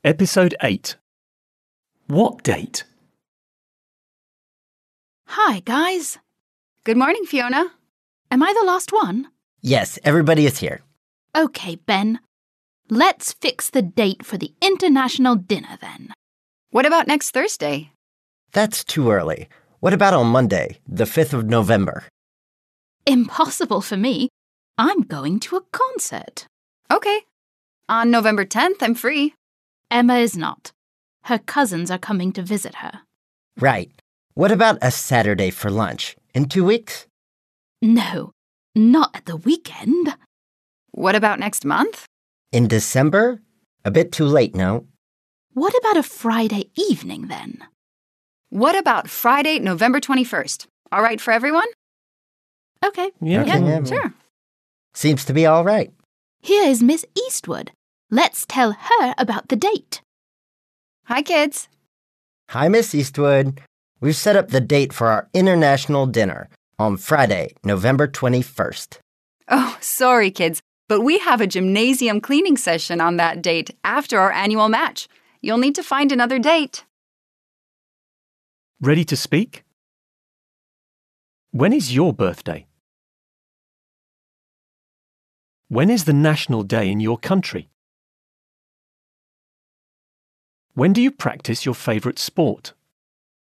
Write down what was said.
Episode 8. What date? Hi, guys. Good morning, Fiona. Am I the last one? Yes, everybody is here. Okay, Ben. Let's fix the date for the international dinner then. What about next Thursday? That's too early. What about on Monday, the 5th of November? Impossible for me. I'm going to a concert. Okay. On November 10th, I'm free. Emma is not. Her cousins are coming to visit her. Right. What about a Saturday for lunch? In 2 weeks? No, not at the weekend. What about next month? In December? A bit too late, no? What about a Friday evening then? What about Friday, November 21st? All right for everyone? Okay. Yeah. Sure. Seems to be all right. Here is Miss Eastwood. Let's tell her about the date. Hi, kids. Hi, Miss Eastwood. We've set up the date for our international dinner on Friday, November 21st. Oh, sorry, kids, but we have a gymnasium cleaning session on that date after our annual match. You'll need to find another date. Ready to speak? When is your birthday? When is the national day in your country? When do you practice your favourite sport?